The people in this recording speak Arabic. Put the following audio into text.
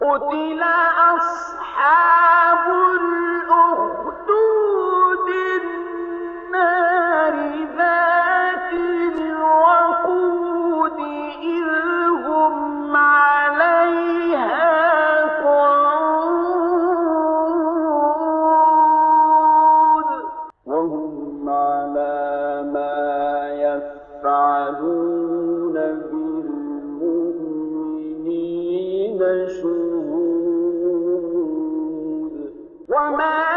قتل أصحاب الأخدود النار ذات الوقود إذ هم عليها قعود وهم على ما يفعلون بالمؤمنين شهود وما